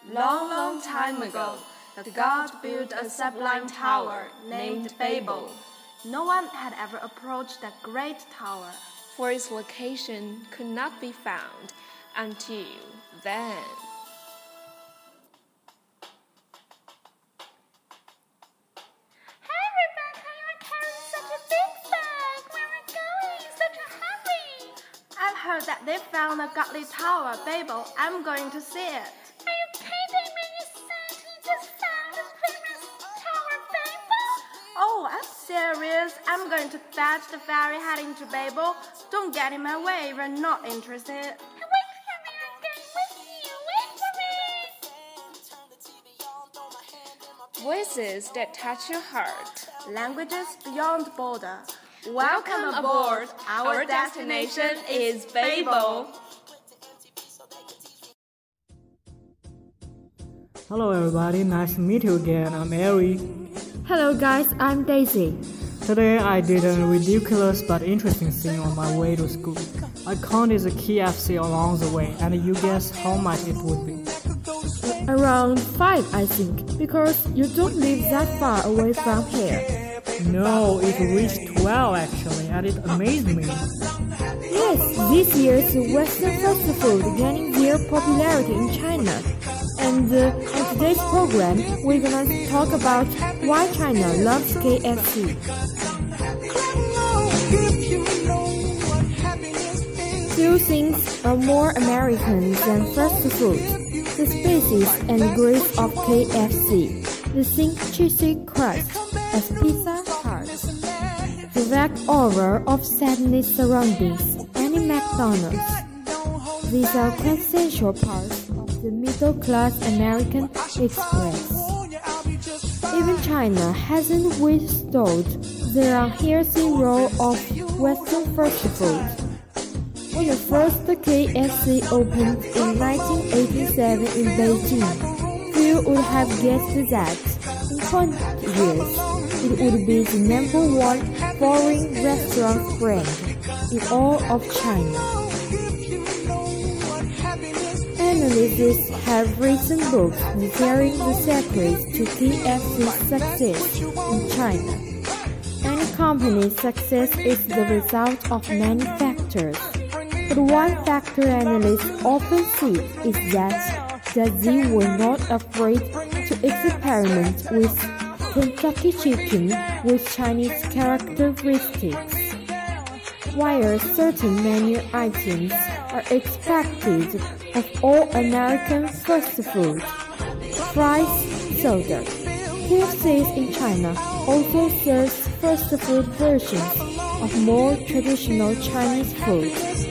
Long, long time ago, the god built a sublime tower named Babel. No one had ever approached that great tower, for its location could not be found until then. Hey Rebecca, you're carrying such a big bag. Where are you going? Such a hurry. I've heard that they found a godly tower, Babel. I'm going to see it. Are you kidding me? You said you just found this famous tower, Babel? Oh, I'm serious. I'm going to fetch the ferry heading to Babel. Don't get in my way if you're not interested. Wait for me, I'm going with you. Wait for me. Voices that touch your heart. Languages beyond border. Welcome aboard. Our destination is Babel. Hello everybody, nice to meet you again. I'm Ari. Hello guys, I'm Daisy. Today I did a ridiculous but interesting thing on my way to school. I counted the KFC along the way, and you guess how much it would be? Around 5, I think, because you don't live that far away from here. No, it reached 12 actually, and it amazed me. Yes, this year's Western fast food gaining their popularity in China. And in today's program, we're gonna talk about why China loves KFC. Few things are more American than fast food. The species and grace of KFC. The thin cheesy crust as pizza heart. The vague aura of sadness surroundings any McDonald's. These are quintessential parts of the middle-class American express. Even China hasn't withstood the unhealthy role of Western fast food. When the first KFC opened in 1987 in Beijing, few would have guessed that in 20 years it would be the #1 foreign restaurant brand in all of China. Analysts have written books detailing the secrets to KFC's success in China. Any company's success is the result of many factors. But one factor analysts often see is that they were not afraid to experiment with Kentucky chicken with Chinese characteristics. While certain menu items are expected of all American fast food, fries, soda, KFC in China also serves fast food versions of more traditional Chinese food.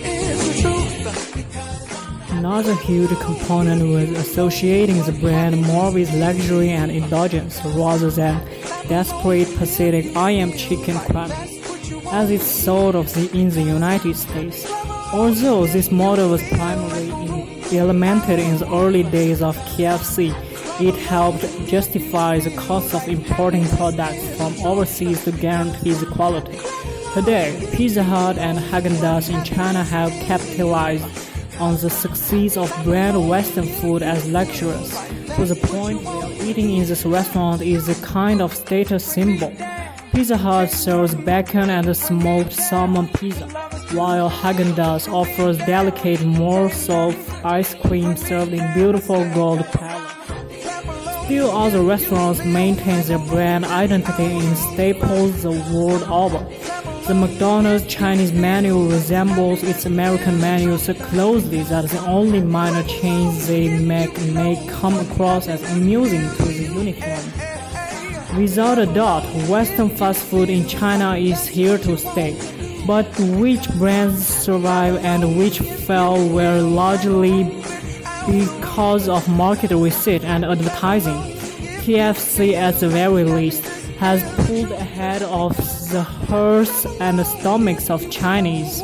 Another huge component was associating the brand more with luxury and indulgence rather than desperate pathetic I am chicken cravings, as it's sold in the United States. Although this model was primarily implemented in the early days of KFC, it helped justify the cost of importing products from overseas to guarantee the quality. Today, Pizza Hut and Häagen-Dazs in China have capitalized on the success of brand Western food as luxurious, to the point where eating in this restaurant is a kind of status symbol. Pizza Hut serves bacon and smoked salmon pizza, while Häagen-Dazs offers delicate morsels of ice cream served in beautiful gold palettes. Still, other restaurants maintain their brand identity in staples the world over. The McDonald's Chinese menu resembles its American menu so closely that the only minor change they make may come across as amusing to the uniform. Without a doubt, Western fast food in China is here to stay, but which brands survive and which fell were largely because of market research and advertising. KFC, at the very least, has pulled ahead of the hearts and stomachs of Chinese.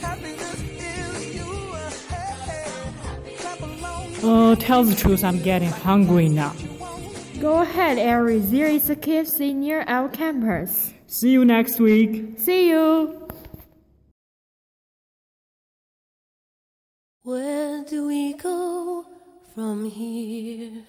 Tell the truth, I'm getting hungry now. Go ahead, Ari. There is a KFC near our campus. See you next week. See you. Where do we go from here.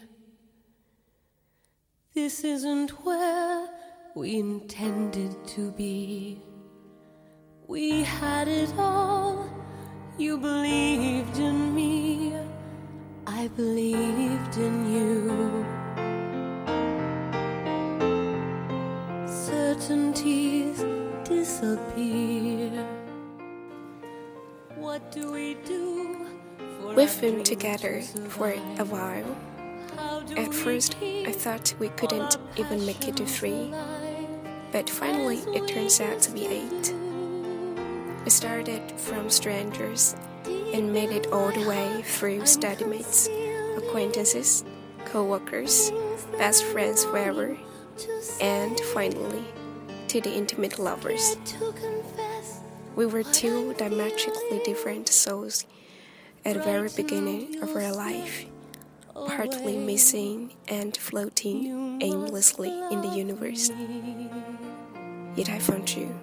This isn't where we intended to be. We had it all. You believed in me, I believed in you. Certainties disappear. What do we do? We've been together for a while. At first, I thought we couldn't even make it to 3, but finally it turns out to be 8. We started from strangers and made it all the way through study mates, acquaintances, co-workers, best friends forever, and finally to the intimate lovers. We were 2 diametrically different souls at the very beginning of our life, partly missing and floating aimlessly in the universe. Yet I found you.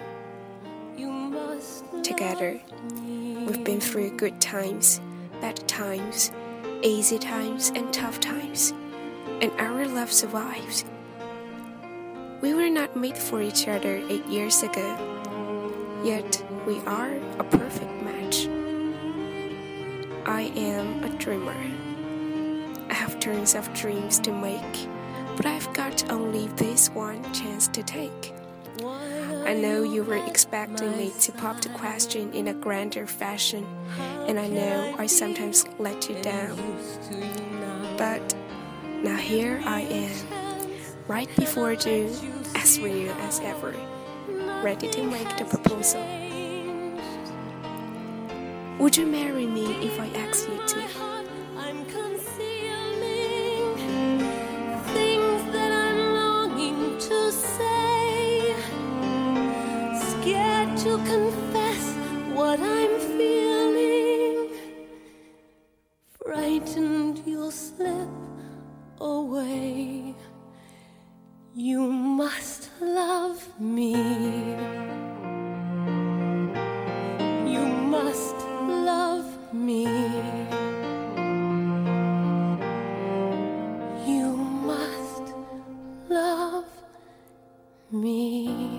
Together, we've been through good times, bad times, easy times, and tough times, and our love survives. We were not made for each other 8 years ago, yet we are a perfect match. I am a dreamer. I have tons of dreams to make, but I've got only this one chance to take. I know you were expecting me to pop the question in a grander fashion, and I know I sometimes let you down. But now here I am, right before you, as real as ever, ready to make the proposal. Would you marry me if I asked you to? I'm concealing things that I'm longing to say, scared to confess what I'm feeling, frightened you'll slip away. You must love me. You must love me. You must love me.